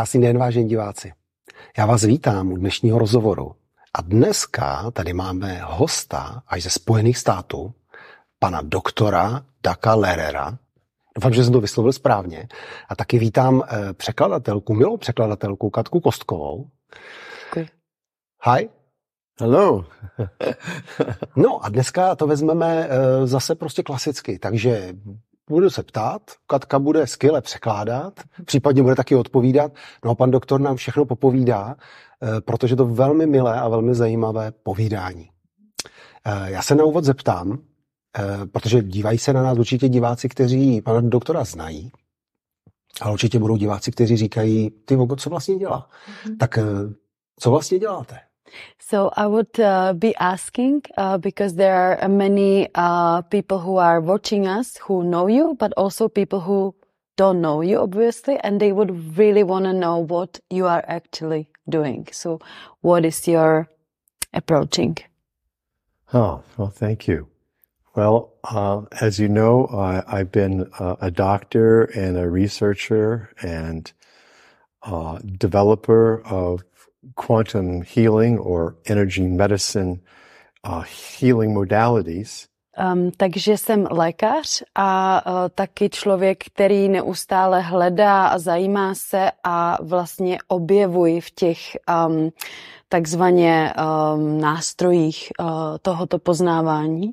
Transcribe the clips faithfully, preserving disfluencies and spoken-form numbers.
Krásný den, vážení diváci. Já vás vítám u dnešního rozhovoru. A dneska tady máme hosta až ze Spojených států, pana doktora Daka Lehrera. Doufám, že jsem to vyslovil správně. A taky vítám překladatelku, milou překladatelku Katku Kostkovou. Děkuji. Hi. Hello. No a dneska to vezmeme zase prostě klasicky, takže budu se ptát, Katka bude skvěle překládat, případně bude taky odpovídat, no a pan doktor nám všechno popovídá, protože to velmi milé a velmi zajímavé povídání. Já se na úvod zeptám, protože dívají se na nás určitě diváci, kteří pana doktora znají, ale určitě budou diváci, kteří říkají, ty vogo, co vlastně dělá? Mm-hmm. Tak co vlastně děláte? So I would uh, be asking uh, because there are many uh, people who are watching us who know you, but also people who don't know you, obviously, and they would really want to know what you are actually doing. So what is your approaching? Oh, well, thank you. Well, uh, as you know, I, I've been uh, a doctor and a researcher and uh, developer of quantum healing or energy medicine uh, healing modalities. Um, takže jsem lékař a uh, taky člověk, který neustále hledá a zajímá se a vlastně objevuji v těch um, takzvaně um, nástrojích uh, tohoto poznávání.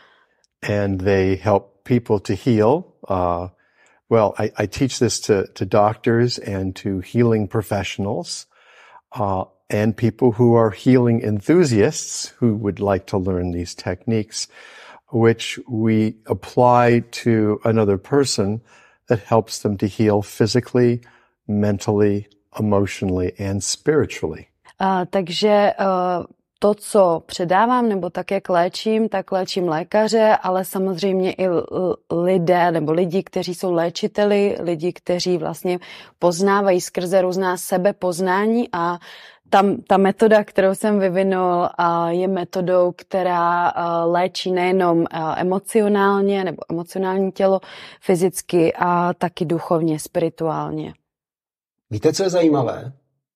And they help people to heal. Uh, well, I, I teach this to, to doctors and to healing professionals. Uh, and people who are healing enthusiasts who would like to learn these techniques, which we apply to another person that helps them to heal physically, mentally, emotionally, and spiritually. Uh, takže uh, to, co předávám, nebo tak, jak léčím, tak léčím lékaře, ale samozřejmě i lidé, nebo lidi, kteří jsou léčiteli, lidi, kteří vlastně poznávají skrze různá sebepoznání a tam ta metoda, kterou jsem vyvinul, je metodou, která léčí nejenom emocionálně nebo emocionální tělo, fyzicky a taky duchovně, spirituálně. Víte, co je zajímavé?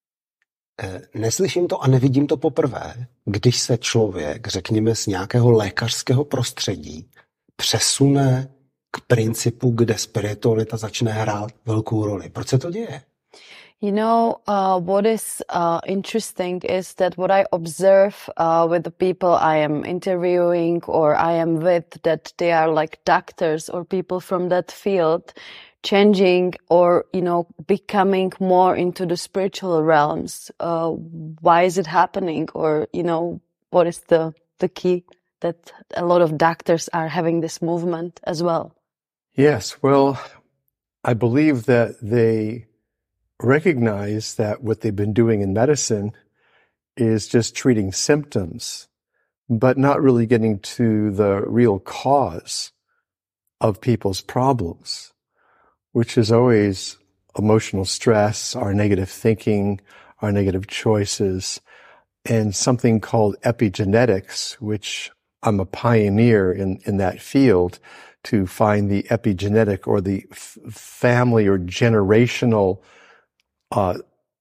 Neslyším to a nevidím to poprvé, když se člověk, řekněme, z nějakého lékařského prostředí přesune k principu, kde spiritualita začne hrát velkou roli. Proč se to děje? You know, uh, what is uh, interesting is that what I observe uh, with the people I am interviewing or I am with, that they are like doctors or people from that field, changing or, you know, becoming more into the spiritual realms. Uh, why is it happening? Or, you know, what is the, the key that a lot of doctors are having this movement as well? Yes, well, I believe that they recognize that what they've been doing in medicine is just treating symptoms, but not really getting to the real cause of people's problems, which is always emotional stress, our negative thinking, our negative choices, and something called epigenetics, which I'm a pioneer in, in that field to find the epigenetic or the f- family or generational uh,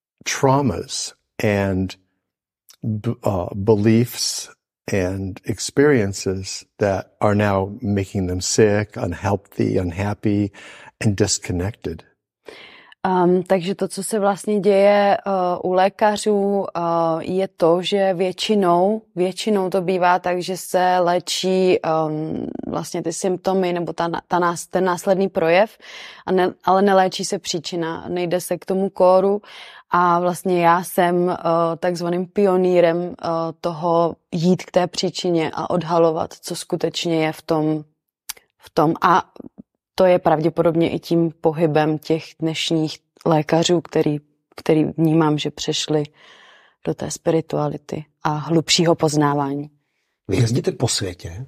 traumas and b- uh, beliefs and experiences that are now making them sick, unhealthy, unhappy, and disconnected. Um, takže to, co se vlastně děje uh, u lékařů, uh, je to, že většinou, většinou to bývá tak, že se léčí um, vlastně ty symptomy nebo ta, ta nás, ten následný projev, a ne, ale neléčí se příčina, nejde se k tomu kóru a vlastně já jsem uh, takzvaným pionýrem uh, toho jít k té příčině a odhalovat, co skutečně je v tom, v tom a to je pravděpodobně i tím pohybem těch dnešních lékařů, který, který vnímám, že přešli do té spirituality a hlubšího poznávání. Vy jezdíte po světě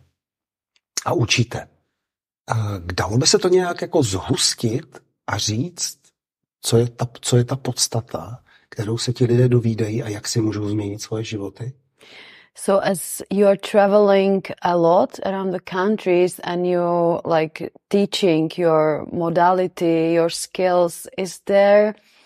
a učíte. Dalo by se to nějak jako zhustit a říct, co je ta, co je ta podstata, kterou se ti lidé dovídají a jak si můžou změnit svoje životy? So as you're traveling a lot around the countries and you're like teaching your modality, your skills, is there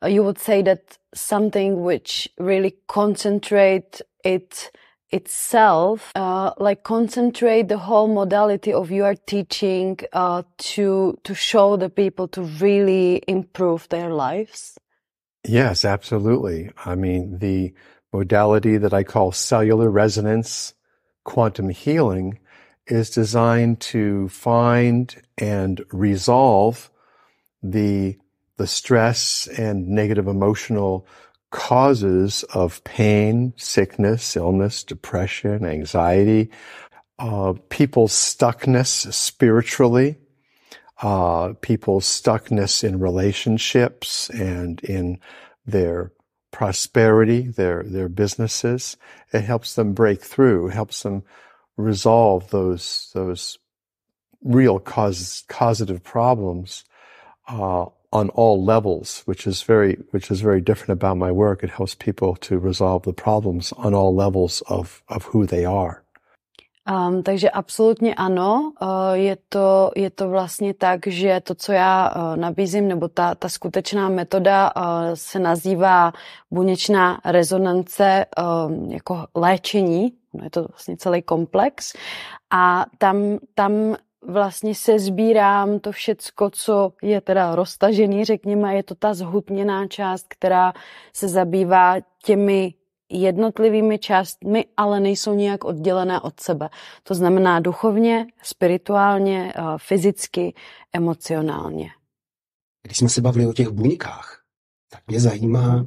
you would say that something which really concentrate it itself, uh, like concentrate the whole modality of your teaching uh, to to show the people to really improve their lives? Yes, absolutely. I mean, the modality that I call cellular resonance quantum healing is designed to find and resolve the the stress and negative emotional causes of pain, sickness, illness, depression, anxiety, uh, people's stuckness spiritually, uh, people's stuckness in relationships and in their prosperity, their their businesses. It helps them break through, helps them resolve those those real cause, causative problems uh, on all levels, which is very which is very different about my work. It helps people to resolve the problems on all levels of of who they are. Um, takže absolutně ano, uh, je to, je to vlastně tak, že to, co já uh, nabízím, nebo ta, ta skutečná metoda uh, se nazývá buněčná rezonance um, jako léčení, no je to vlastně celý komplex a tam, tam vlastně se sbírám to všecko, co je teda roztažený, řekněme, je to ta zhutněná část, která se zabývá těmi jednotlivými částmi, ale nejsou nijak oddělené od sebe. To znamená duchovně, spirituálně, fyzicky, emocionálně. Když jsme se bavili o těch buňkách, tak mě zajímá,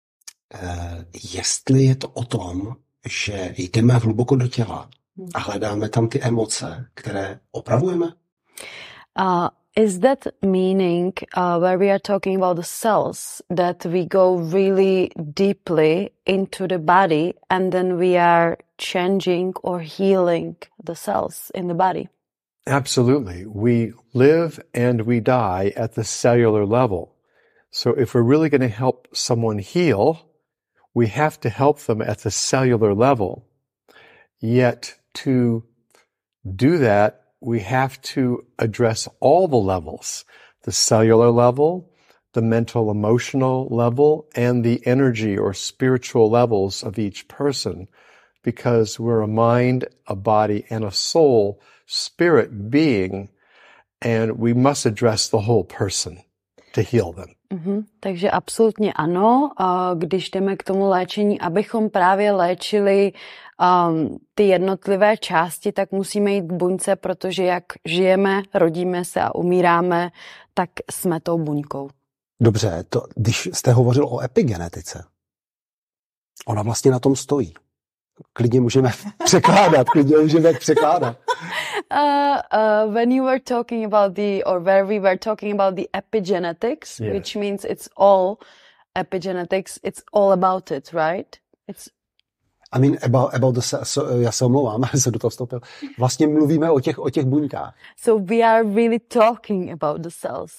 jestli je to o tom, že jdeme hluboko do těla a hledáme tam ty emoce, které opravujeme? Uh, Is that meaning uh, where we are talking about the cells, that we go really deeply into the body and then we are changing or healing the cells in the body? Absolutely. We live and we die at the cellular level. So if we're really going to help someone heal, we have to help them at the cellular level. Yet to do that, we have to address all the levels, the cellular level, the mental emotional level, and the energy or spiritual levels of each person, because we're a mind, a body, and a soul, spirit being, and we must address the whole person to heal them. Mm-hmm. Takže absolutně ano, když jdeme k tomu léčení, abychom právě léčili um, ty jednotlivé části, tak musíme jít k buňce, protože jak žijeme, rodíme se a umíráme, tak jsme tou buňkou. Dobře, to, když jste hovořil o epigenetice, ona vlastně na tom stojí. Klidně můžeme překládat, klidně můžeme překládat. Uh, uh, when you were talking about the, or where we were talking about the epigenetics, yes. Which means it's all epigenetics, it's all about it, right? It's I mean, about, about the, so, já se omlouvám, jsem do toho vstoupil. Vlastně mluvíme o těch, o těch buňkách. So we are really talking about the cells.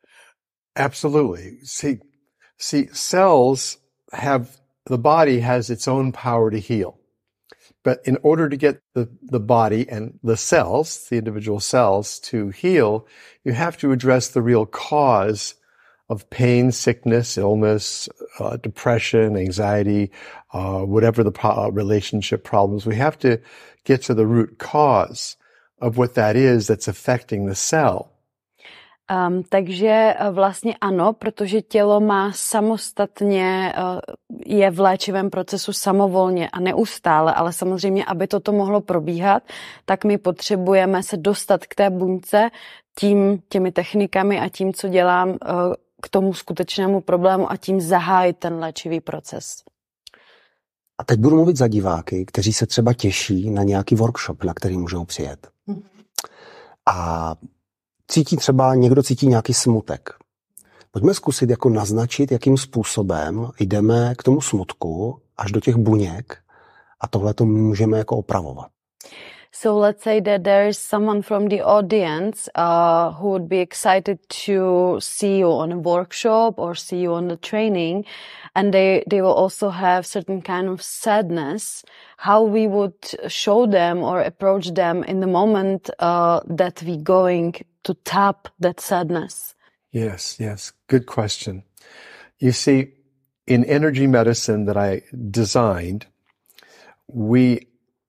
Absolutely. See, see, cells have, the body has its own power to heal. But in order to get the, the body and the cells, the individual cells, to heal, you have to address the real cause of pain, sickness, illness, uh, depression, anxiety, uh, whatever the pro- relationship problems. We have to get to the root cause of what that is that's affecting the cell. Um, takže vlastně ano, protože tělo má samostatně, uh, je v léčivém procesu samovolně a neustále, ale samozřejmě, aby toto mohlo probíhat, tak my potřebujeme se dostat k té buňce tím, těmi technikami a tím, co dělám, uh, k tomu skutečnému problému a tím zahájit ten léčivý proces. A teď budu mluvit za diváky, kteří se třeba těší na nějaký workshop, na který můžou přijet. Mm-hmm. A cítí třeba, někdo cítí nějaký smutek. Pojďme zkusit jako naznačit, jakým způsobem jdeme k tomu smutku až do těch buněk a tohle to můžeme jako opravovat. So let's say that there is someone from the audience uh, who would be excited to see you on a workshop or see you on the training, and they, they will also have certain kind of sadness. How we would show them or approach them in the moment uh, that we going to tap that sadness? Yes, yes. Good question. You see, in energy medicine that I designed, we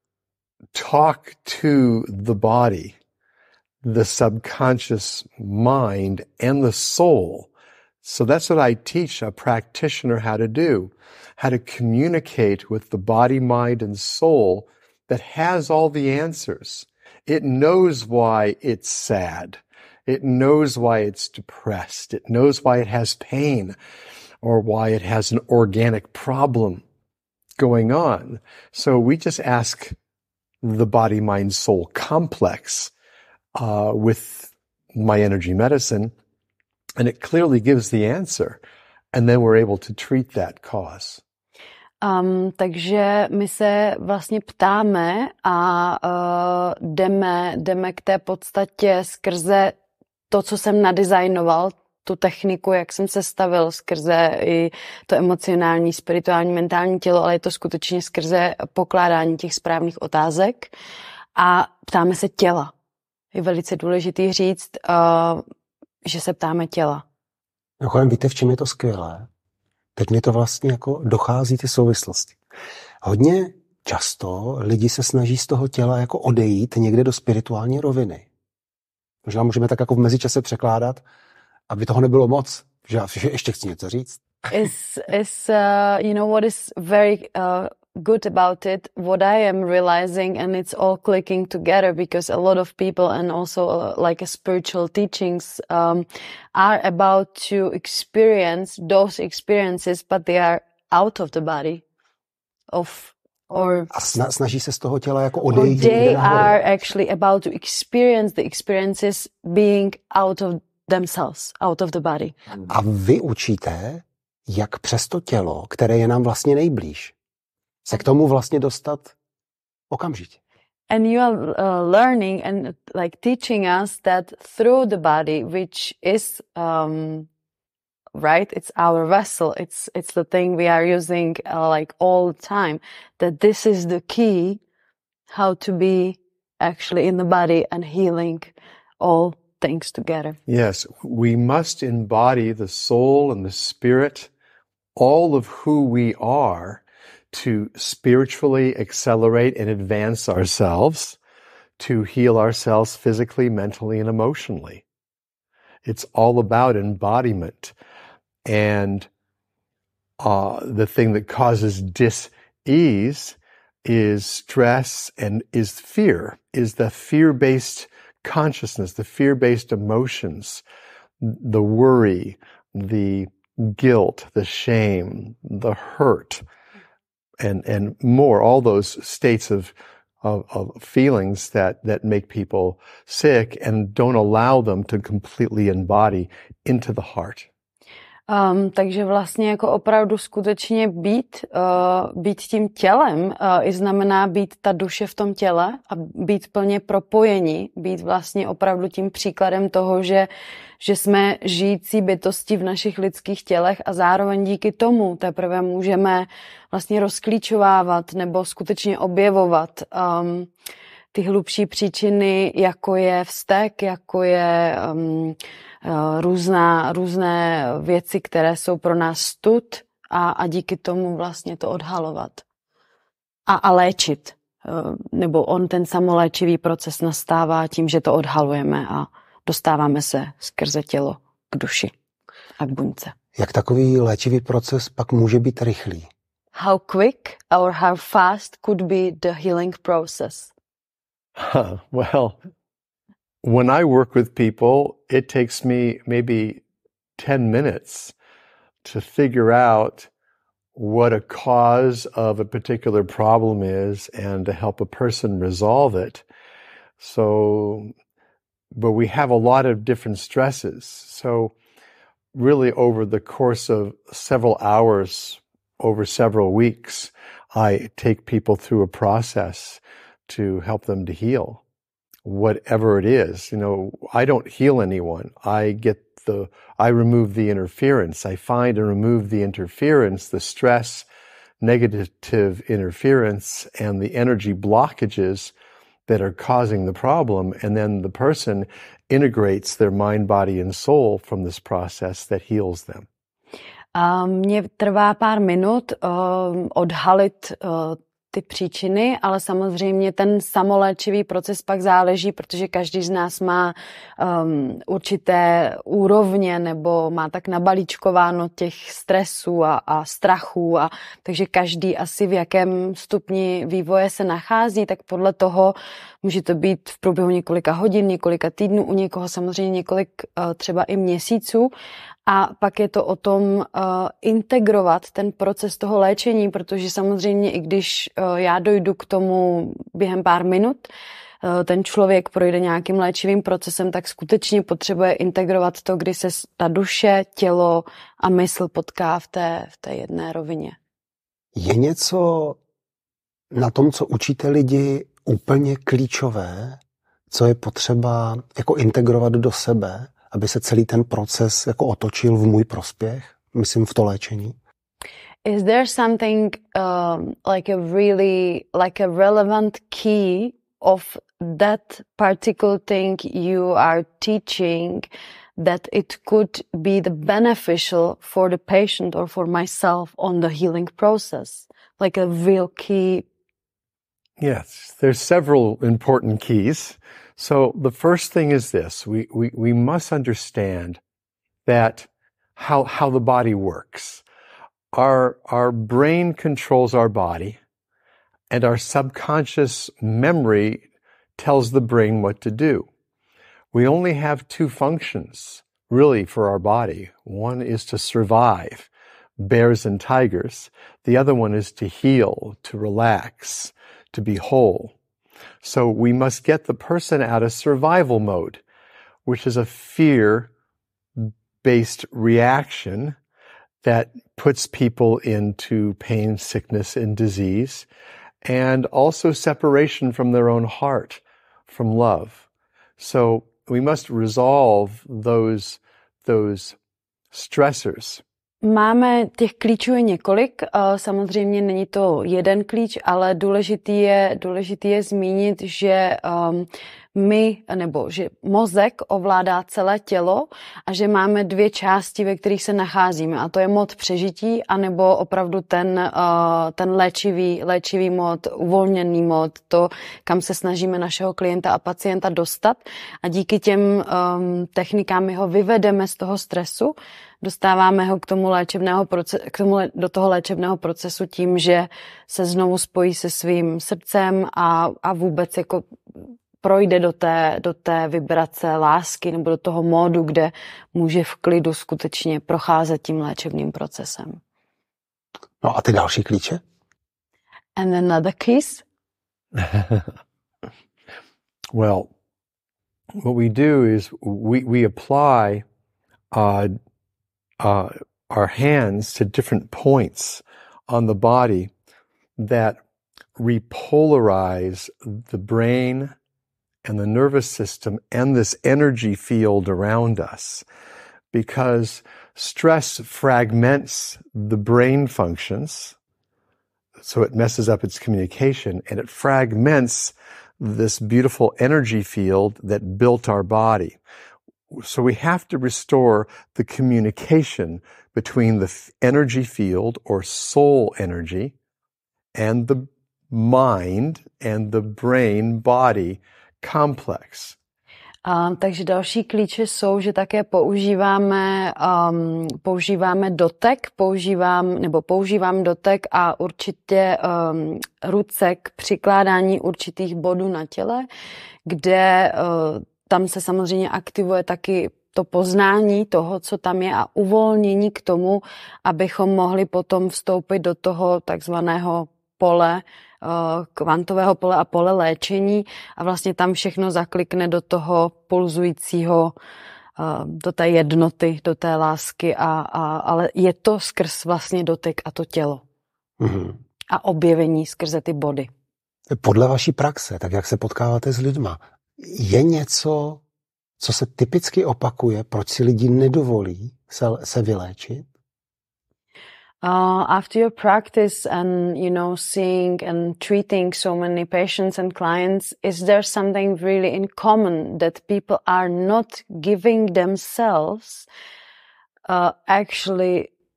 talk to the body, the subconscious mind, and the soul. So that's what I teach a practitioner how to do, how to communicate with the body, mind, and soul that has all the answers. It knows why it's sad. It knows why it's depressed. It knows why it has pain or why it has an organic problem going on. So we just ask the body, mind, soul complex uh, with my energy medicine, and it clearly gives the answer. And then we're able to treat that cause. Um, takže my se vlastně ptáme a uh, jdeme, jdeme k té podstatě skrze to, co jsem nadizajnoval, tu techniku, jak jsem se stavil, skrze i to emocionální, spirituální, mentální tělo, ale je to skutečně skrze pokládání těch správných otázek a ptáme se těla. Je velice důležitý říct, uh, že se ptáme těla. No, víte, v čem je to skvělé? Teď mi to vlastně jako dochází ty souvislosti. Hodně často lidi se snaží z toho těla jako odejít někde do spirituální roviny. Možná můžeme tak jako v mezičase překládat, aby toho nebylo moc, že já ještě chci něco říct. Is, is, uh, you know what is very uh, good about it, what I am realizing, and it's all clicking together because a lot of people and also uh, like a spiritual teachings um, are about to experience those experiences, but they are out of the body of or a snaží se z toho těla jako odejít. They are actually about to experience the experiences being out of themselves, out of the body. A vy učíte, jak přes to tělo, které je nám vlastně nejblíž, se k tomu vlastně dostat okamžitě. And you are uh, learning and like teaching us that through the body, which is um, right, it's our vessel, it's it's the thing we are using uh, like all the time, that this is the key how to be actually in the body and healing all things together. Yes, we must embody the soul and the spirit, all of who we are, to spiritually accelerate and advance ourselves, to heal ourselves physically, mentally, and emotionally. It's all about embodiment. And uh, the thing that causes dis-ease is stress and is fear, is the fear-based consciousness, the fear-based emotions, the worry, the guilt, the shame, the hurt, and and more, all those states of of, of feelings that that make people sick and don't allow them to completely embody into the heart. Um, takže vlastně jako opravdu skutečně být, uh, být tím tělem uh, i znamená být ta duše v tom těle a být plně propojení, být vlastně opravdu tím příkladem toho, že, že jsme žijící bytosti v našich lidských tělech a zároveň díky tomu teprve můžeme vlastně rozklíčovávat nebo skutečně objevovat um, ty hlubší příčiny, jako je vztek, jako je um, různá, různé věci, které jsou pro nás stud a, a díky tomu vlastně to odhalovat. A, a léčit. Nebo on ten samoléčivý proces nastává tím, že to odhalujeme a dostáváme se skrze tělo k duši a k buňce. Jak takový léčivý proces pak může být rychlý? How quick or how fast could be the healing process? Huh, well, when I work with people, it takes me maybe ten minutes to figure out what a cause of a particular problem is and to help a person resolve it. So, but we have a lot of different stresses. So really over the course of several hours, over several weeks, I take people through a process to help them to heal. Whatever it is, you know, I don't heal anyone. I get the, I remove the interference. I find and remove the interference, the stress, negative interference, and the energy blockages that are causing the problem. And then the person integrates their mind, body, and soul from this process that heals them. A mně trvá pár minut uh, odhalit uh, ty příčiny, ale samozřejmě ten samoléčivý proces pak záleží, protože každý z nás má um, určité úrovně nebo má tak nabalíčkováno těch stresů a, a strachů, a takže každý asi v jakém stupni vývoje se nachází, tak podle toho může to být v průběhu několika hodin, několika týdnů, u někoho samozřejmě několik uh, třeba i měsíců. A pak je to o tom uh, integrovat ten proces toho léčení, protože samozřejmě i když uh, já dojdu k tomu během pár minut, uh, ten člověk projde nějakým léčivým procesem, tak skutečně potřebuje integrovat to, kdy se ta duše, tělo a mysl potká v té, v té jedné rovině. Je něco na tom, co učíte lidi, úplně klíčové, co je potřeba jako integrovat do sebe, aby se celý ten proces jako otočil v můj prospěch, myslím v to léčení? Is there something um, like a really like a relevant key of that particular thing you are teaching that it could be the beneficial for the patient or for myself on the healing process? Like a real key? Yes, there's several important keys. So the first thing is this, we, we, we must understand that how, how the body works. Our, our brain controls our body, and our subconscious memory tells the brain what to do. We only have two functions, really, for our body. One is to survive, bears and tigers. The other one is to heal, to relax, to be whole. So we must get the person out of survival mode, which is a fear-based reaction that puts people into pain, sickness, and disease, and also separation from their own heart, from love. So we must resolve those, those stressors. Máme těch klíčů je několik, samozřejmě není to jeden klíč, ale důležitý je, důležitý je zmínit, že um, my, nebo že mozek ovládá celé tělo a že máme dvě části, ve kterých se nacházíme, a to je mod přežití, anebo opravdu ten, uh, ten léčivý, léčivý mod, uvolněný mod, to, kam se snažíme našeho klienta a pacienta dostat, a díky těm um, technikám my ho vyvedeme z toho stresu, dostáváme ho k tomu léčebného procesu, k tomu, do toho léčebného procesu tím, že se znovu spojí se svým srdcem a, a vůbec jako projde do té, do té vibrace lásky nebo do toho módu, kde může v klidu skutečně procházet tím léčebným procesem. No a ty další klíče? And another keys? Well, what we do is we, we apply uh, uh, our hands to different points on the body that repolarize the brain and the nervous system and this energy field around us, because stress fragments the brain functions, so it messes up its communication, and it fragments this beautiful energy field that built our body. So we have to restore the communication between the energy field or soul energy and the mind and the brain body complex. Um, takže další klíče jsou, že také používáme, um, používáme dotek, používám, nebo používám dotek a určitě um, ruce k přikládání určitých bodů na těle, kde uh, tam se samozřejmě aktivuje taky to poznání toho, co tam je, a uvolnění k tomu, abychom mohli potom vstoupit do toho takzvaného pole, kvantového pole a pole léčení, a vlastně tam všechno zaklikne do toho pulzujícího, do té jednoty, do té lásky, a, a, ale je to skrz vlastně dotyk a to tělo. Mm-hmm. A objevení skrze ty body. Podle vaší praxe, tak jak se potkáváte s lidma, je něco, co se typicky opakuje, proč si lidi nedovolí se, se vyléčit? Uh, after your practice and, you know, seeing and treating so many patients and clients, is there something really in common that people are not giving themselves uh, actually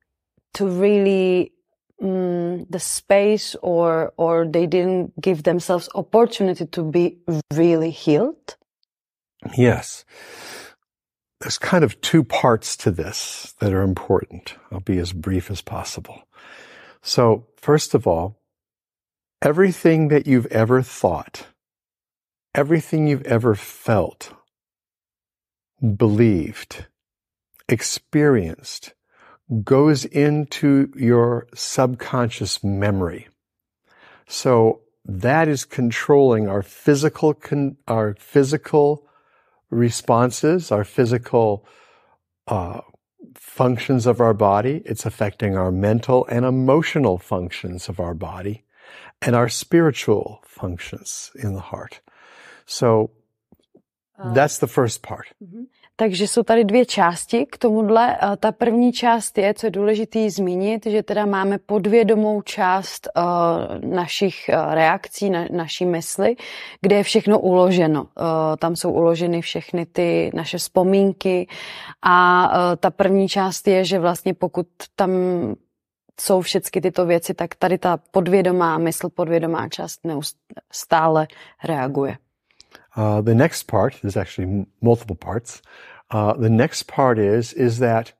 to really um, the space or or they didn't give themselves opportunity to be really healed? Yes. There's kind of two parts to this that are important. I'll be as brief as possible. So, first of all, everything that you've ever thought, everything you've ever felt, believed, experienced, goes into your subconscious memory. So that is controlling our physical, con- our physical responses, our physical uh, functions of our body. It's affecting our mental and emotional functions of our body and our spiritual functions in the heart. So that's the first part. Mm-hmm. Takže jsou tady dvě části k tomuhle. Ta první část je, co je důležitý zmínit, že teda máme podvědomou část uh, našich uh, reakcí, na, naší mysli, kde je všechno uloženo. Uh, tam jsou uloženy všechny ty naše vzpomínky a uh, ta první část je, že vlastně pokud tam jsou všechny tyto věci, tak tady ta podvědomá mysl, podvědomá část neustále reaguje. Uh, the next part, there's actually multiple parts. Uh, the next part is, is that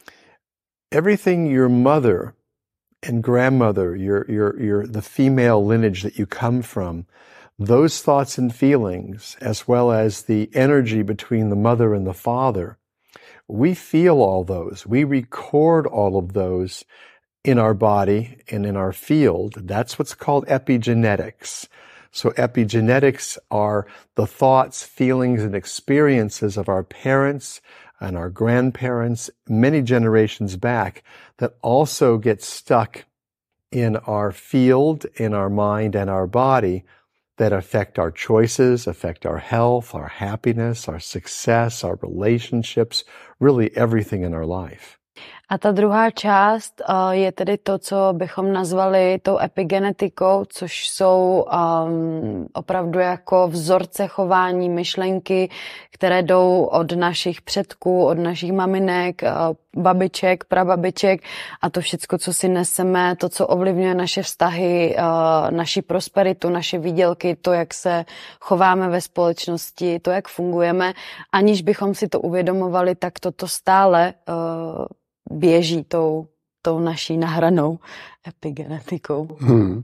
everything your mother and grandmother, your, your, your, the female lineage that you come from, those thoughts and feelings, as well as the energy between the mother and the father, we feel all those. We record all of those in our body and in our field. That's what's called epigenetics. So epigenetics are the thoughts, feelings, and experiences of our parents and our grandparents many generations back that also get stuck in our field, in our mind, and our body that affect our choices, affect our health, our happiness, our success, our relationships, really everything in our life. A ta druhá část uh, je tedy to, co bychom nazvali tou epigenetikou, což jsou um, opravdu jako vzorce chování, myšlenky, které jdou od našich předků, od našich maminek, uh, babiček, prababiček a to všecko, co si neseme, to, co ovlivňuje naše vztahy, uh, naši prosperitu, naše výdělky, to, jak se chováme ve společnosti, to, jak fungujeme, aniž bychom si to uvědomovali, tak toto stále uh, běží tou, tou naší nahranou epigenetikou. Hmm.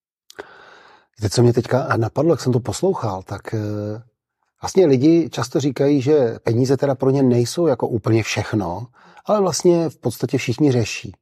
Víte, co mě teďka napadlo, jak jsem to poslouchal, tak vlastně lidi často říkají, že peníze teda pro ně nejsou jako úplně všechno, ale vlastně v podstatě všichni řeší.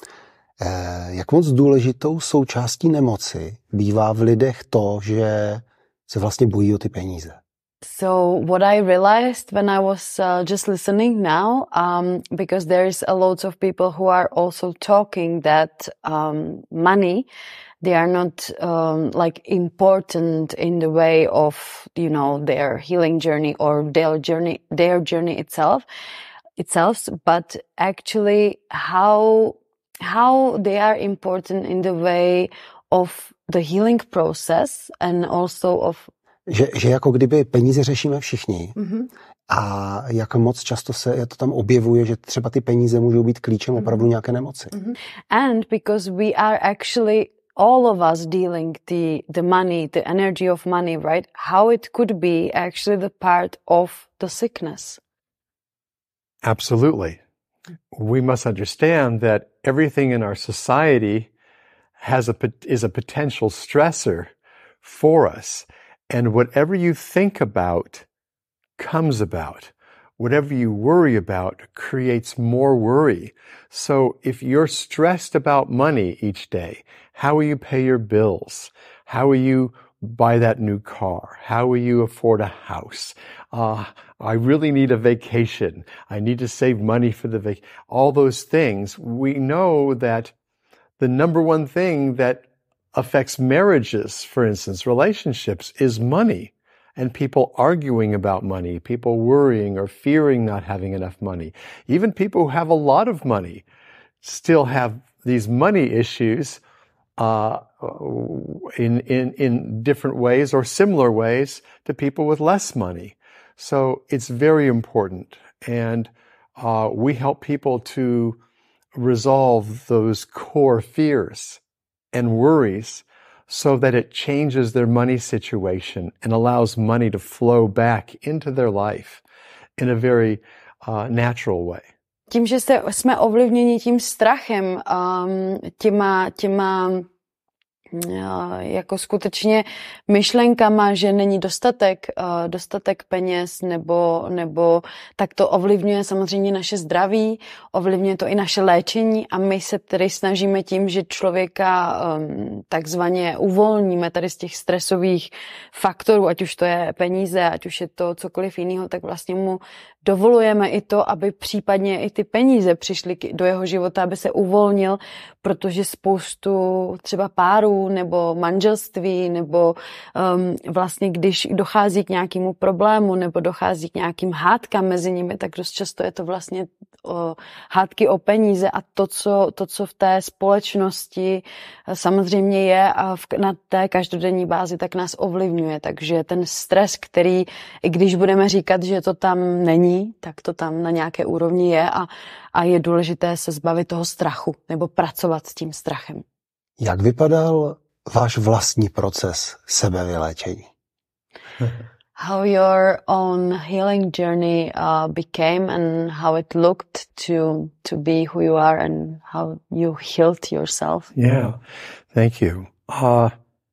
Jak moc důležitou součástí nemoci bývá v lidech to, že se vlastně bojí o ty peníze. So what I realized when I was uh, just listening now, um, because there's a lot of people who are also talking that um, money, they are not um, like important in the way of, you know, their healing journey or their journey, their journey itself, itself, but actually how how they are important in the way of the healing process and also of Že, že jako kdyby peníze řešíme všichni mm-hmm. a jak moc často se to tam objevuje, že třeba ty peníze můžou být klíčem mm-hmm. opravdu nějaké nemoci. Mm-hmm. And because we are actually all of us dealing the the money, the energy of money, right? How it could be actually the part of the sickness. Absolutely. We must understand that everything in our society has a is a potential stressor for us. And whatever you think about comes about. Whatever you worry about creates more worry. So if you're stressed about money each day, how will you pay your bills? How will you buy that new car? How will you afford a house? Uh, I really need a vacation. I need to save money for the vacation. All those things. We know that the number one thing that affects marriages, for instance, relationships, is money. And people arguing about money, people worrying or fearing not having enough money. Even people who have a lot of money still have these money issues uh, in, in, in different ways or similar ways to people with less money. So it's very important. And uh, we help people to resolve those core fears and worries so that it changes their money situation and allows money to flow back into their life in a very uh, natural way. Tím, že se, jsme ovlivněni tím strachem, um, těma, těma jako skutečně myšlenkama, že není dostatek, dostatek peněz, nebo, nebo tak to ovlivňuje samozřejmě naše zdraví, ovlivňuje to i naše léčení a my se tedy snažíme tím, že člověka takzvaně uvolníme tady z těch stresových faktorů, ať už to je peníze, ať už je to cokoliv jiného, tak vlastně mu dovolujeme i to, aby případně i ty peníze přišly do jeho života, aby se uvolnil, protože spoustu třeba párů nebo manželství nebo um, vlastně když dochází k nějakému problému nebo dochází k nějakým hádkám mezi nimi, tak dost často je to vlastně o, hádky o peníze a to co, to, co v té společnosti samozřejmě je a v, na té každodenní bázi, tak nás ovlivňuje. Takže ten stres, který, i když budeme říkat, že to tam není, tak to tam na nějaké úrovni je a, a je důležité se zbavit toho strachu nebo pracovat s tím strachem. Jak vypadal váš vlastní proces sebevyléčení? How your own healing journey uh, became and how it looked to to be who you are and how you healed yourself. Yeah, thank you. Uh,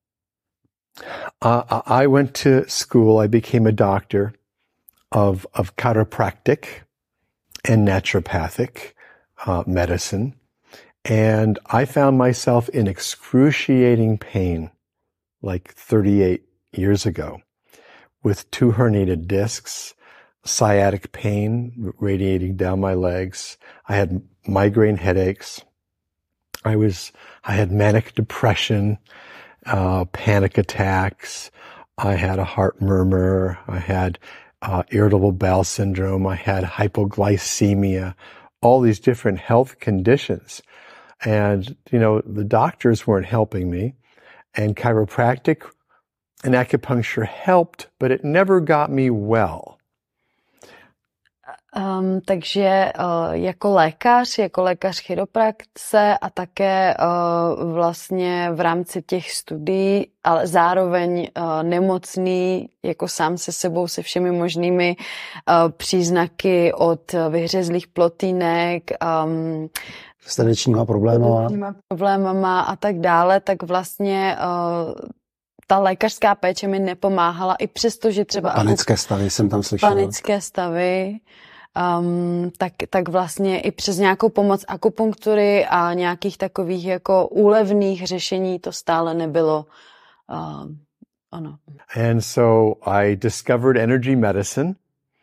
uh, I went to school. I became a doctor of of chiropractic and naturopathic uh, medicine. And I found myself in excruciating pain like thirty-eight years ago with two herniated discs, sciatic pain radiating down my legs. I had migraine headaches. I was, I had manic depression, uh, panic attacks. I had a heart murmur. I had uh, irritable bowel syndrome. I had hypoglycemia, all these different health conditions. And, you know, the doctors weren't helping me, and chiropractic and acupuncture helped, but it never got me well. Um, takže uh, jako lékař, jako lékař chiropraxe a také uh, vlastně v rámci těch studií, ale zároveň uh, nemocný, jako sám se sebou, se všemi možnými uh, příznaky od vyhřezlých plotýnek, um, s tanečníma problémama. problémama a tak dále, tak vlastně uh, ta lékařská péče mi nepomáhala, i přesto, že třeba... Panické stavy jsem tam slyšela. Panické stavy, um, tak, tak vlastně i přes nějakou pomoc akupunktury a nějakých takových jako úlevných řešení to stále nebylo. Uh, ono. And so I discovered energy medicine,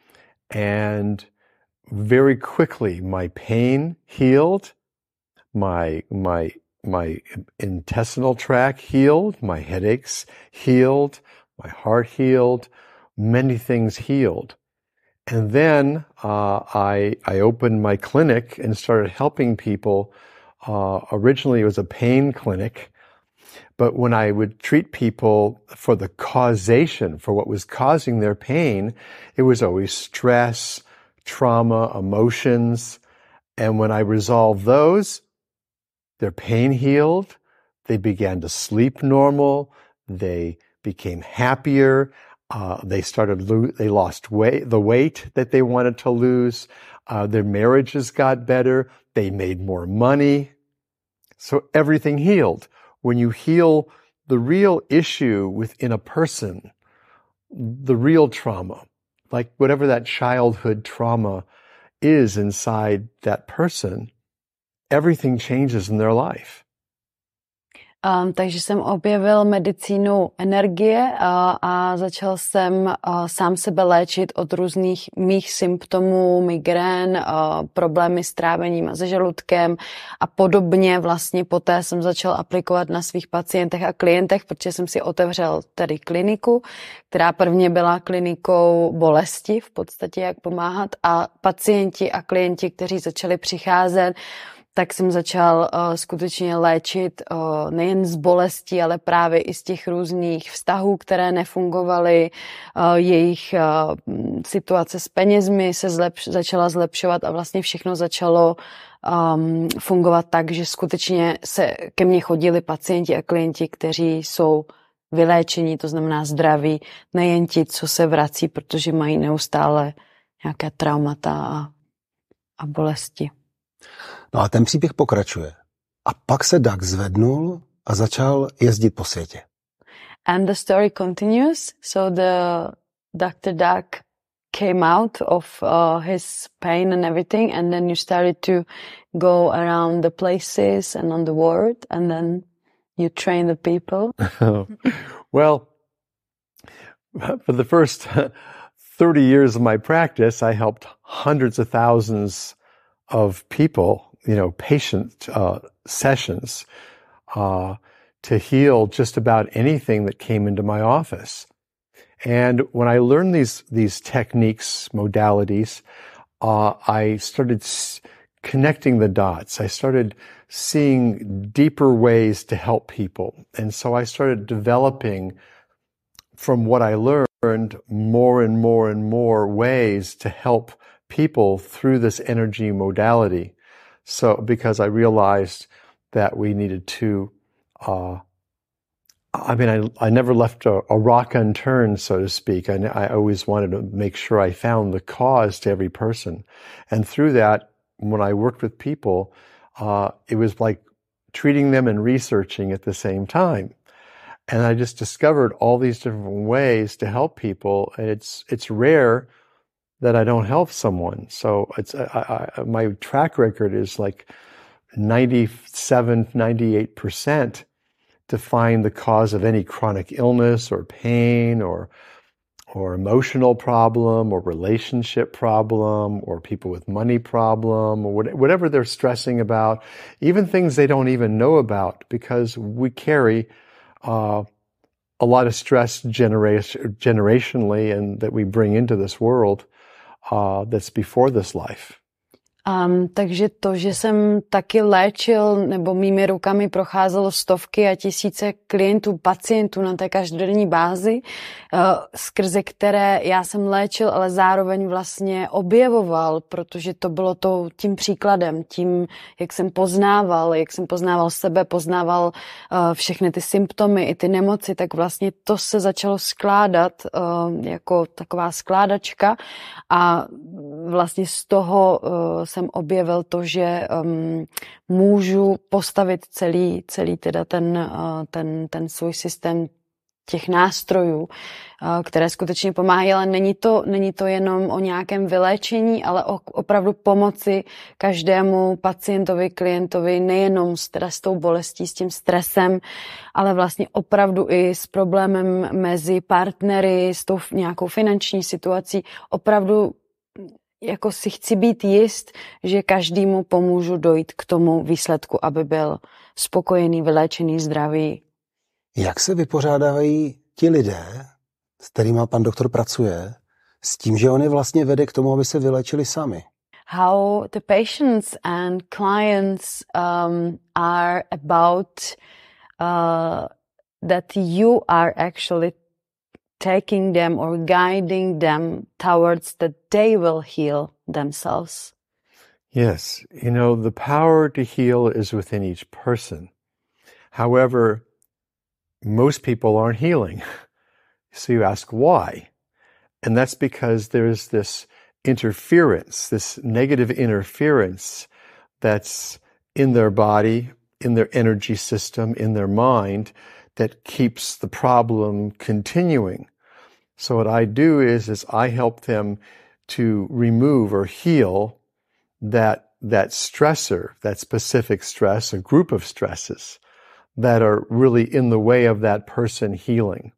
and very quickly my pain healed. My, my, my intestinal tract healed, my headaches healed, my heart healed, many things healed. And then uh, I, I opened my clinic and started helping people. Uh, originally it was a pain clinic, but when I would treat people for the causation, for what was causing their pain, it was always stress, trauma, emotions. And when I resolved those, their pain healed, they began to sleep normal, they became happier, uh, they started, lo- they lost weight, the weight that they wanted to lose, uh, their marriages got better, they made more money. So everything healed. When you heal the real issue within a person, the real trauma, like whatever that childhood trauma is inside that person, everything changes in their life. Um, takže jsem objevil medicínu energie a, a začal jsem a, sám sebe léčit od různých mých symptomů, migrén, a, problémy s trávením a se žaludkem a podobně. Vlastně poté jsem začal aplikovat na svých pacientech a klientech, protože jsem si otevřel tady kliniku, která prvně byla klinikou bolesti, v podstatě jak pomáhat, a pacienti a klienti, kteří začali přicházet, tak jsem začal uh, skutečně léčit uh, nejen z bolestí, ale právě i z těch různých vztahů, které nefungovaly. Uh, jejich uh, situace s penězmi se zlepš- začala zlepšovat a vlastně všechno začalo um, fungovat tak, že skutečně se ke mně chodili pacienti a klienti, kteří jsou vyléčení, to znamená zdraví, nejen ti, co se vrací, protože mají neustále nějaké traumata a, a bolesti. No a ten příběh pokračuje. A pak se Doug zvednul a začal jezdit po světě. And the story continues. So the doctor Doug came out of uh, his pain and everything, and then you started to go around the places and on the world, and then you train the people. Well, for the first thirty years of my practice, I helped hundreds of thousands of people, you know, patient uh, sessions uh, to heal just about anything that came into my office. And when I learned these these techniques, modalities, uh, I started s- connecting the dots. I started seeing deeper ways to help people. And so I started developing from what I learned more and more and more ways to help people through this energy modality. So because I realized that we needed to, uh, I mean, I, I never left a, a rock unturned, so to speak. I, I always wanted to make sure I found the cause to every person. And through that, when I worked with people, uh, it was like treating them and researching at the same time. And I just discovered all these different ways to help people. And it's, it's rare that I don't help someone. So it's, I, I, my track record is like ninety-seven, ninety-eight percent to find the cause of any chronic illness or pain or, or emotional problem or relationship problem or people with money problem or whatever they're stressing about, even things they don't even know about, because we carry uh, a lot of stress genera- generationally and that we bring into this world uh, that's before this life. Um, takže to, že jsem taky léčil nebo mými rukami procházelo stovky a tisíce klientů, pacientů na té každodenní bázi, uh, skrze které já jsem léčil, ale zároveň vlastně objevoval, protože to bylo to, tím příkladem, tím, jak jsem poznával, jak jsem poznával sebe, poznával uh, všechny ty symptomy i ty nemoci, tak vlastně to se začalo skládat uh, jako taková skládačka a vlastně z toho uh, jsem objevil to, že um, můžu postavit celý, celý teda ten, uh, ten, ten svůj systém těch nástrojů, uh, které skutečně pomáhají, ale není to, není to jenom o nějakém vyléčení, ale o opravdu pomoci každému pacientovi, klientovi, nejenom s, teda s tou bolestí, s tím stresem, ale vlastně opravdu i s problémem mezi partnery, s tou nějakou finanční situací, opravdu jako si chci být jist, že každému pomůžu dojít k tomu výsledku, aby byl spokojený, vyléčený, zdravý. Jak se vypořádávají ti lidé, s kterými pan doktor pracuje, s tím, že on je vlastně vede k tomu, aby se vylečili sami? How the patients and clients um, are about uh, that you are actually taking them or guiding them towards that they will heal themselves. Yes, you know, the power to heal is within each person. However, most people aren't healing. So you ask why? And that's because there's this interference, this negative interference that's in their body, in their energy system, in their mind, that keeps the problem continuing. So what I do is, is I help them to remove or heal that, that stressor, that specific stress, a group of stresses that are really in the way of that person healing.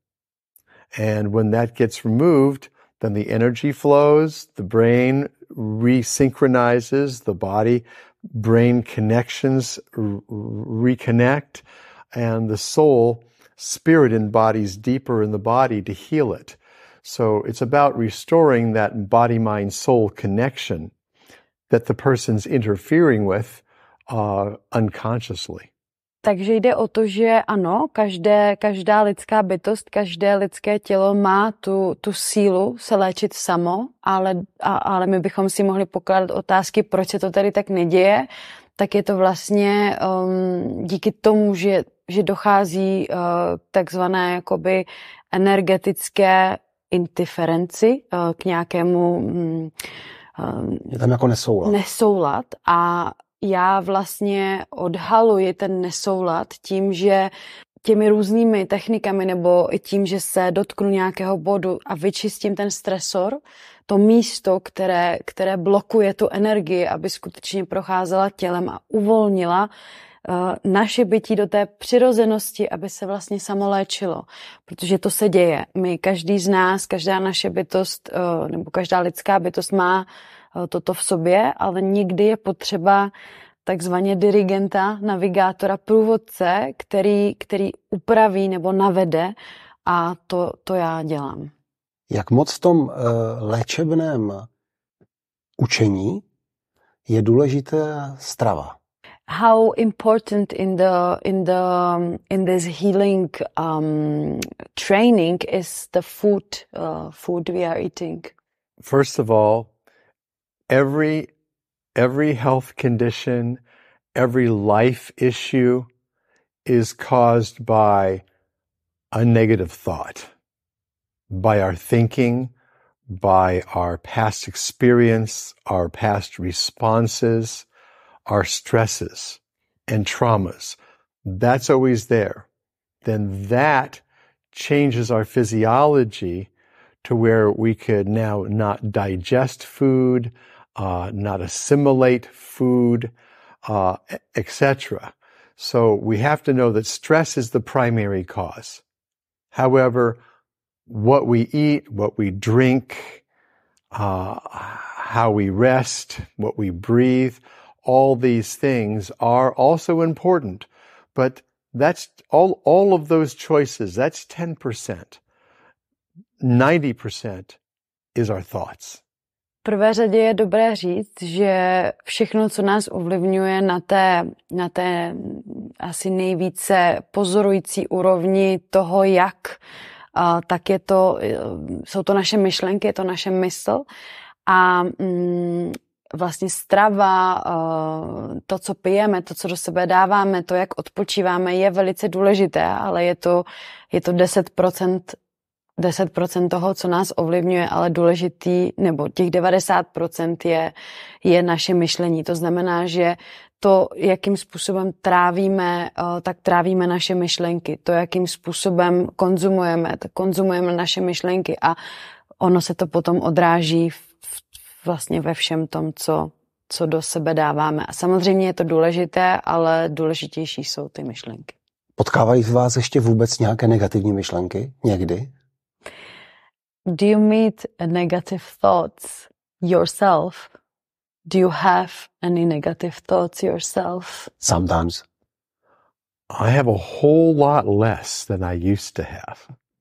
And when that gets removed, then the energy flows, the brain resynchronizes, the body, brain connections r- reconnect, and the soul, spirit embodies deeper in the body to heal it. So it's about restoring that body-mind-soul connection that the person's interfering with uh, unconsciously. Takže jde o to, že ano, každé, každá lidská bytost, každé lidské tělo má tu, tu sílu se léčit samo, ale, a, ale my bychom si mohli pokládat otázky, proč se to tady tak neděje, tak je to vlastně um, díky tomu, že, že dochází uh, k takzvané jakoby energetické indiferenci, uh, k nějakému um, je tam jako nesoulad. nesoulad a já vlastně odhaluji ten nesoulad tím, že těmi různými technikami nebo i tím, že se dotknu nějakého bodu a vyčistím ten stresor, to místo, které, které blokuje tu energii, aby skutečně procházela tělem a uvolnila uh, naše bytí do té přirozenosti, aby se vlastně samo léčilo. Protože to se děje. My, každý z nás, každá naše bytost uh, nebo každá lidská bytost má toto v sobě, ale někdy je potřeba takzvaně dirigenta, navigátora, průvodce, který, který upraví nebo navede a to, to já dělám. Jak moc v tom uh, léčebném učení je důležitá strava? How important in the in the in this healing um, training is the food uh, food we are eating? First of all, Every, every health condition, every life issue is caused by a negative thought, by our thinking, by our past experience, our past responses, our stresses and traumas. That's always there. Then that changes our physiology to where we could now not digest food, Uh, not assimilate food, uh, et cetera. So we have to know that stress is the primary cause. However, what we eat, what we drink, uh, how we rest, what we breathe, all these things are also important. But that's all, all of those choices, that's ten percent. ninety percent is our thoughts. V prvé řadě je dobré říct, že všechno, co nás ovlivňuje na té, na té asi nejvíce pozorující úrovni toho, jak, tak je to, jsou to naše myšlenky, je to naše mysl a mm, vlastně strava, to, co pijeme, to, co do sebe dáváme, to, jak odpočíváme, je velice důležité, ale je to, je to deset procent deset procent toho, co nás ovlivňuje, ale důležitý, nebo těch devadesát procent je, je naše myšlení. To znamená, že to, jakým způsobem trávíme, tak trávíme naše myšlenky. To, jakým způsobem konzumujeme, tak konzumujeme naše myšlenky a ono se to potom odráží v, vlastně ve všem tom, co, co do sebe dáváme. A samozřejmě je to důležité, ale důležitější jsou ty myšlenky. Potkávají z vás ještě vůbec nějaké negativní myšlenky? Někdy? Do you meet negative thoughts yourself? Do you have any negative thoughts yourself? Sometimes. I have a whole lot less than I used to have.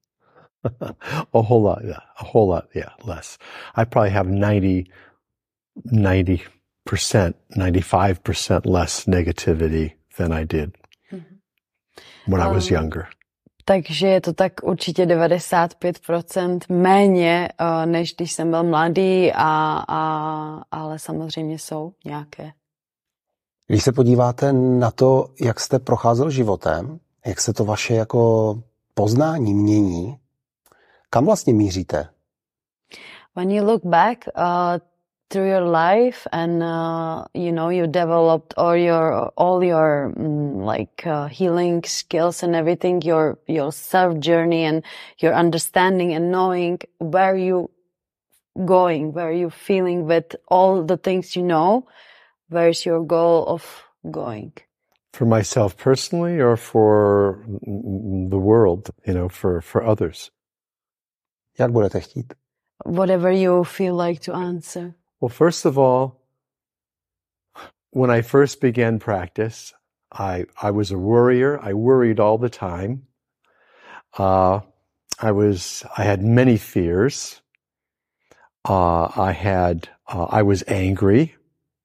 a whole lot, yeah. A whole lot, yeah, less. I probably have ninety, ninety percent, ninety-five percent less negativity than I did mm-hmm. when um, I was younger. Takže je to tak určitě devadesát pět procent méně, než když jsem byl mladý, a, a, ale samozřejmě jsou nějaké. Když se podíváte na to, jak jste procházel životem, jak se to vaše jako poznání mění, kam vlastně míříte? When you look back uh, through your life and uh, you know you developed all your all your um, like uh, healing skills and everything, your your self journey and your understanding and knowing where you going, where you feeling with all the things you know, where is your goal of going? For myself personally, or for the world, you know, for for others. Jak budete chtít? Whatever you feel like to answer. Well, first of all, when I first began practice, I I was a worrier. I worried all the time. Uh, I was I had many fears. Uh, I had uh, I was angry.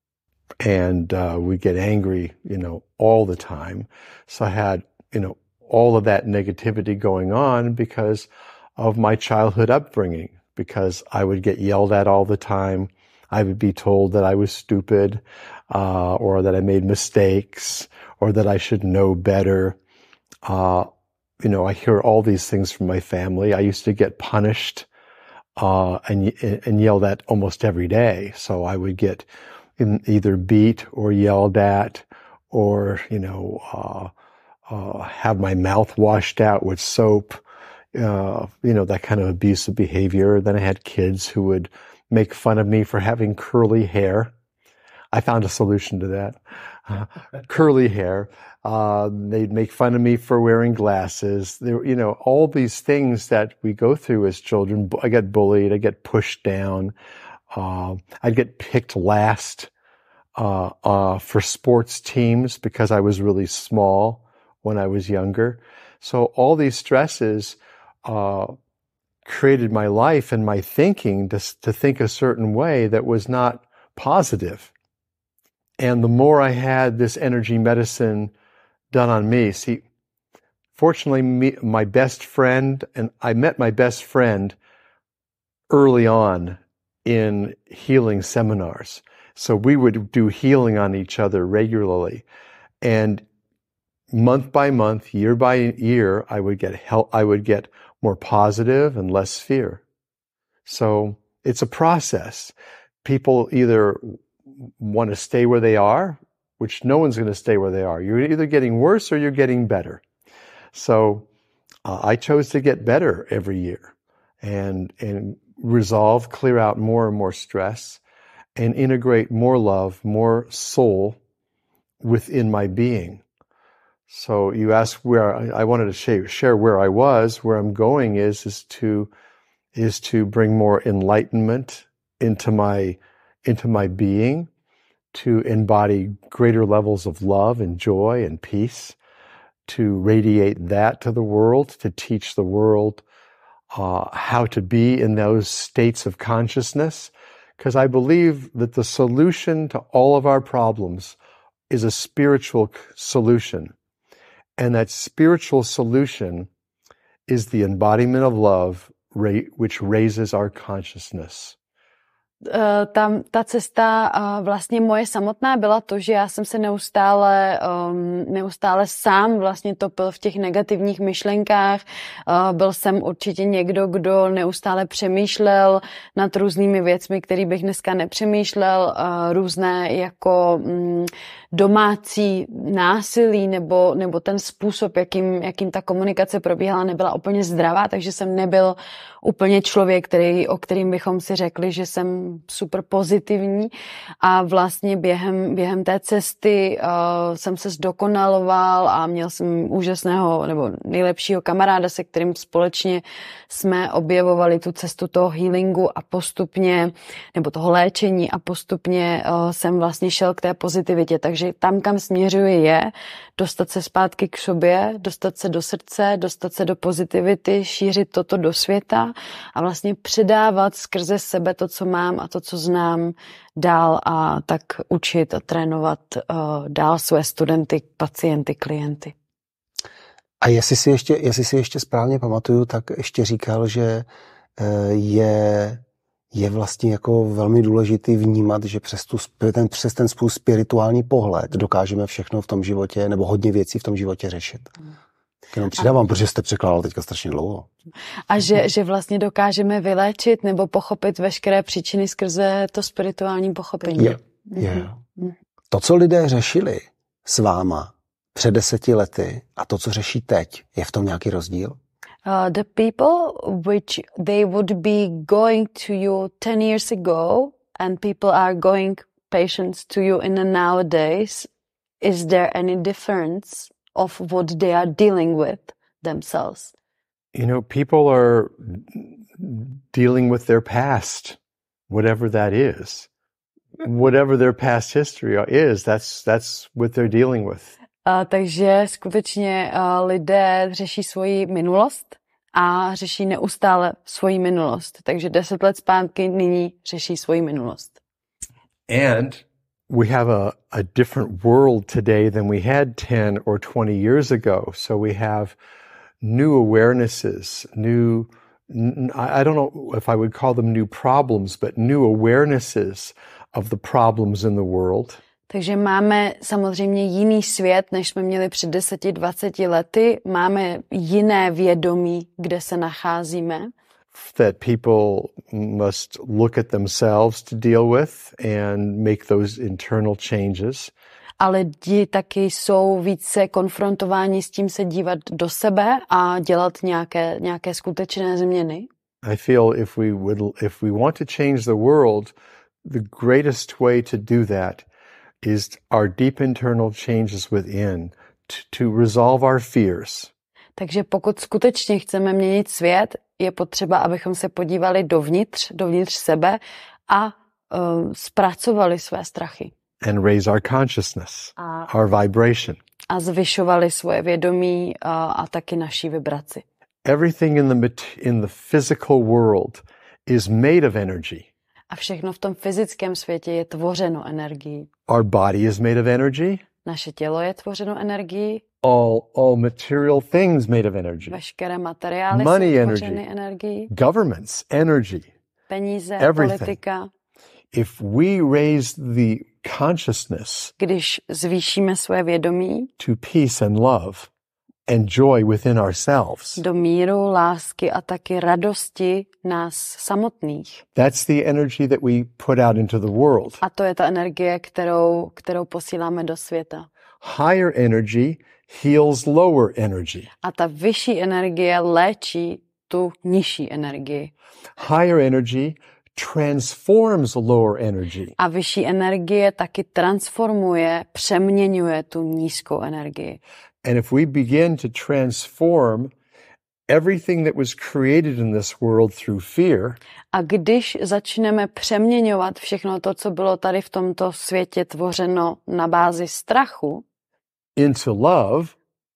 and uh, we get angry, you know, all the time. So I had, you know, all of that negativity going on because of my childhood upbringing, because I would get yelled at all the time. I would be told that I was stupid, uh, or that I made mistakes, or that I should know better. Uh, you know, I hear all these things from my family. I used to get punished, uh, and, and yelled at almost every day. So I would get either beat or yelled at, or, you know, uh, uh, have my mouth washed out with soap, uh, you know, that kind of abusive behavior. Then I had kids who would make fun of me for having curly hair. I found a solution to that. Uh, curly hair. Uh, they'd make fun of me for wearing glasses. There, you know, all these things that we go through as children. I get bullied. I get pushed down. Uh, I'd get picked last, uh, uh, for sports teams because I was really small when I was younger. So all these stresses, uh, created my life and my thinking to, to think a certain way that was not positive. And the more I had this energy medicine done on me, see, fortunately, me, my best friend, and I met my best friend early on in healing seminars. So we would do healing on each other regularly. And month by month, year by year, I would get help, I would get more positive and less fear. So it's a process. People either want to stay where they are, which no one's going to stay where they are. You're either getting worse or you're getting better. So uh, I chose to get better every year and, and resolve, clear out more and more stress and integrate more love, more soul within my being. So you asked where I, I wanted to share, share where I was. Where I'm going is is to is to bring more enlightenment into my into my being, to embody greater levels of love and joy and peace, to radiate that to the world, to teach the world uh, how to be in those states of consciousness. Because I believe that the solution to all of our problems is a spiritual solution. And that spiritual solution is the embodiment of love, which raises our consciousness. Uh, tam ta cesta uh, vlastně moje samotná byla to, že já jsem se neustále, um, neustále sám vlastně topil v těch negativních myšlenkách. Uh, byl jsem určitě někdo, kdo neustále přemýšlel nad různými věcmi, který bych dneska nepřemýšlel. Uh, různé jako um, domácí násilí nebo, nebo ten způsob, jakým, jakým ta komunikace probíhala, nebyla úplně zdravá, takže jsem nebyl úplně člověk, který, o kterým bychom si řekli, že jsem super pozitivní a vlastně během, během té cesty uh, jsem se zdokonaloval a měl jsem úžasného nebo nejlepšího kamaráda, se kterým společně jsme objevovali tu cestu toho healingu a postupně, nebo toho léčení a postupně uh, jsem vlastně šel k té pozitivitě, takže tam, kam směřuji je dostat se zpátky k sobě, dostat se do srdce, dostat se do pozitivity, šířit toto do světa a vlastně předávat skrze sebe to, co mám a to, co znám dál a tak učit a trénovat uh, dál své studenty, pacienty, klienty. A jestli si ještě, jestli si ještě správně pamatuju, tak ještě říkal, že je, je vlastně jako velmi důležitý vnímat, že přes, tu, ten, přes ten svůj spirituální pohled dokážeme všechno v tom životě, nebo hodně věcí v tom životě řešit. Jenom přidávám, a... protože jste překládal teďka strašně dlouho. A že, že vlastně dokážeme vyléčit nebo pochopit veškeré příčiny skrze to spirituální pochopení. Je, je. Mm-hmm. To, co lidé řešili s váma před deseti lety a to, co řeší teď, je v tom nějaký rozdíl? Uh, the people which they would be going to you ten years ago and people are going patients to you in the nowadays, is there any difference of what they are dealing with themselves? You know, people are dealing with their past, whatever that is. Whatever their past history is, that's that's what they're dealing with. Uh, takže skutečně uh, lidé řeší svoji minulost a řeší neustále svoji minulost. Takže deset let zpátky nyní řeší svoji minulost. And we have a, a different world today than we had ten or twenty years ago. So we have new awarenesses, new, I don't know if I would call them new problems, but new awarenesses of the problems in the world. Takže máme samozřejmě jiný svět, než jsme měli před deseti, dvaceti lety. Máme jiné vědomí, kde se nacházíme. That people must look at themselves to deal with and make those internal changes. Ale lidi taky jsou více konfrontováni s tím se dívat do sebe a dělat nějaké, nějaké skutečné změny. I feel if we would, if we want to change the world, the greatest way to do that is our deep internal changes within, to, to resolve our fears. Takže pokud skutečně chceme měnit svět, je potřeba, abychom se podívali dovnitř, dovnitř sebe a uh, zpracovali své strachy. And raise our consciousness, a, our vibration. A zvyšovali svoje vědomí uh, a taky naší vibraci. Everything in the in the physical world is made of energy. A všechno v tom fyzickém světě je tvořeno energií. Our body is made of energy. Naše tělo je tvořeno energií. All, all material things made of energy. Veškeré materiály Money jsou energy. tvořeny energií. Governments, energy. Peníze, everything. politika. If we raise the consciousness, když zvýšíme své vědomí, to peace and love and joy within ourselves, do míru, lásky a taky radosti nás samotných. That's the energy that we put out into the world. A to je ta energie, kterou, kterou posíláme do světa. Higher energy heals lower energy. A ta vyšší energie léčí tu nižší energii. Higher energy transforms lower energy. A vyšší energie taky transformuje, přeměňuje tu nízkou energii. And if we begin to transform everything that was created in this world through fear, a když začneme přeměňovat všechno to, co bylo tady v tomto světě tvořeno na bázi strachu, into love,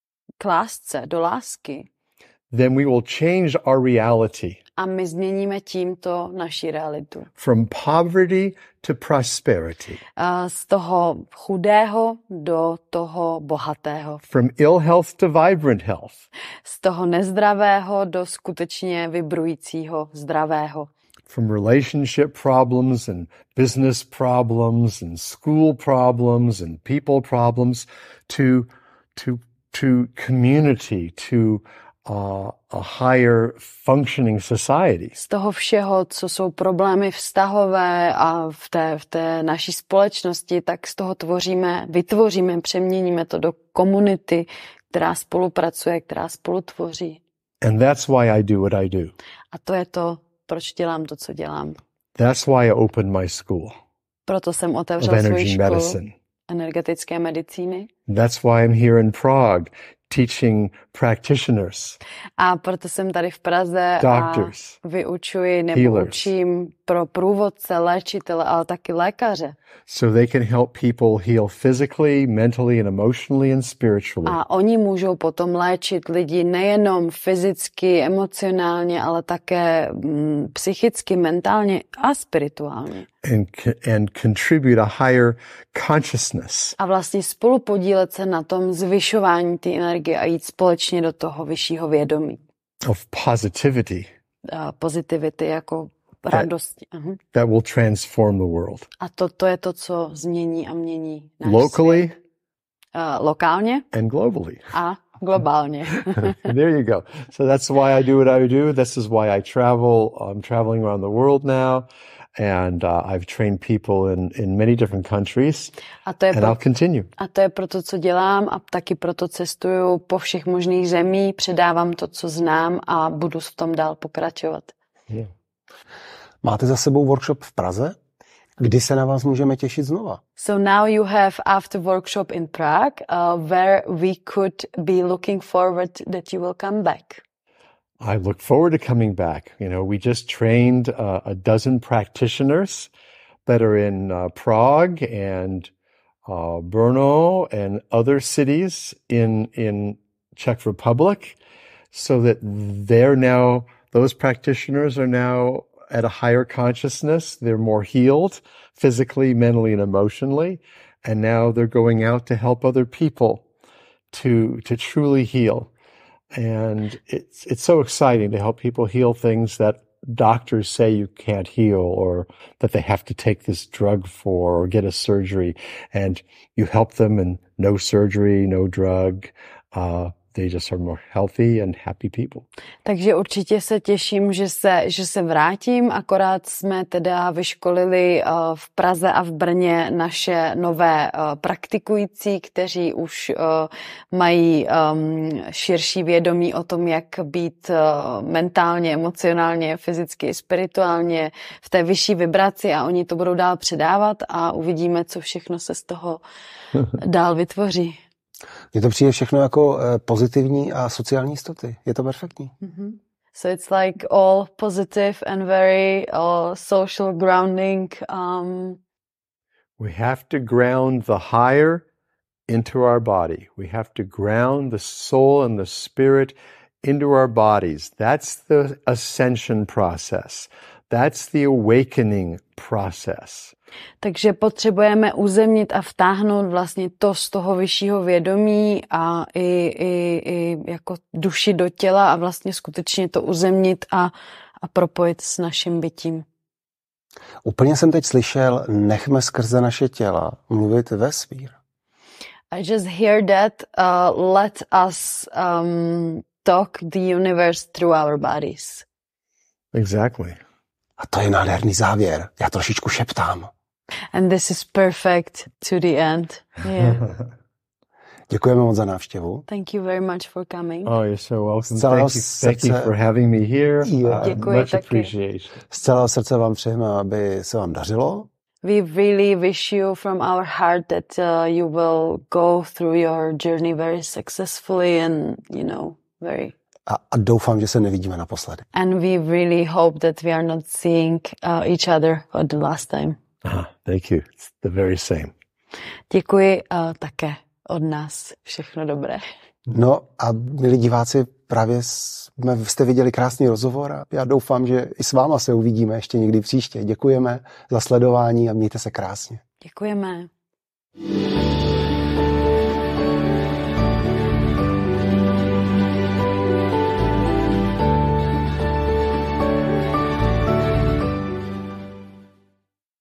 k lásce, do lásky, then we will change our reality. A my změníme tímto naši realitu. From poverty to prosperity. A z toho chudého do toho bohatého. From ill health to vibrant health. Z toho nezdravého do skutečně vibrujícího zdravého. From relationship problems and business problems and school problems and people problems to to to community, to uh, a higher functioning society. Z toho všeho, co jsou problémy vztahové a v té, v té naší společnosti, tak z toho tvoříme, vytvoříme, přeměníme to do komunity, která spolupracuje, která spolutvoří. And that's why I do what I do. A to je to, proč dělám to, co dělám. That's why I opened my school. Proto jsem otevřel svou školu medicine. energetické medicíny. That's why I'm here in Prague teaching practitioners. A proto jsem tady v Praze doctors, a vyučuji nebo healers. učím pro průvodce, léčitele, ale taky lékaře. So they can help people heal physically, mentally and emotionally and spiritually. A oni můžou potom léčit lidi nejenom fyzicky, emocionálně, ale také mm, psychicky, mentálně a spirituálně. And, and contribute a higher consciousness. A vlastně spolupodílet se na tom zvyšování té energie a jít společně do toho vyššího vědomí. Of positivity. A pozitivity jako radosti. Uh-huh. That will transform the world. A to, to je to, co změní a mění náš Locally, svět. Uh, lokálně and globally. A globálně. There you go. So that's why I do what I do. This is why I travel. I'm traveling around the world now. And uh, I've trained people in, in many different countries. A to je and pro, I'll continue. A to je proto, co dělám a taky proto cestuju po všech možných zemí, předávám to, co znám a budu v tom dál pokračovat. Yeah. Máte za sebou workshop v Praze? Kdy se na vás můžeme těšit znova? So now you have after workshop in Prague, uh, where we could be looking forward that you will come back. I look forward to coming back. You know, we just trained uh, a dozen practitioners that are in uh, Prague and uh, Brno and other cities in in Czech Republic, so that they're now those practitioners are now at a higher consciousness. They're more healed physically, mentally, and emotionally. And now they're going out to help other people to, to truly heal. And it's, it's so exciting to help people heal things that doctors say you can't heal, or that they have to take this drug for, or get a surgery. And you help them, and no surgery, no drug. Uh, They just are more healthy and happy people. Takže určitě se těším, že se, že se vrátím, akorát jsme teda vyškolili uh, v Praze a v Brně naše nové uh, praktikující, kteří už uh, mají um, širší vědomí o tom, jak být uh, mentálně, emocionálně, fyzicky, spirituálně v té vyšší vibraci, a oni to budou dál předávat a uvidíme, co všechno se z toho dál vytvoří. Mně to přijde všechno jako uh, pozitivní a sociální jistoty. Je to perfektní. Mm-hmm. So it's like all positive and very uh, social grounding. Um... We have to ground the higher into our body. We have to ground the soul and the spirit into our bodies. That's the ascension process. That's the awakening process. Takže potřebujeme uzemnit a vtáhnout vlastně to z toho vyššího vědomí a i, i, i jako duši do těla a vlastně skutečně to uzemnit a, a propojit s naším bytím. Úplně jsem teď slyšel, nechme skrze naše těla mluvit vesmír. I just hear that, uh, let us um, talk the universe through our bodies. Exactly. A to je nádherný závěr. Já trošičku šeptám. And this is perfect to the end. Yeah. Děkujeme moc za návštěvu. Thank you very much for coming. Oh, you're so welcome. Zcela Thank you, thank you for having me here. Yeah. Uh, Děkuji much taky. appreciation. Z celého srdce vám přejeme, aby se vám dařilo. We really wish you from our heart that uh, you will go through your journey very successfully and, you know, very... A, a doufám, že se nevidíme naposledy. And we really hope that we are not seeing uh, each other for the last time. Ah, thank you. It's the very same. Děkuji uh, také od nás. Všechno dobré. No a milí diváci, právě jsme, jste viděli krásný rozhovor a já doufám, že i s váma se uvidíme ještě někdy příště. Děkujeme za sledování a mějte se krásně. Děkujeme.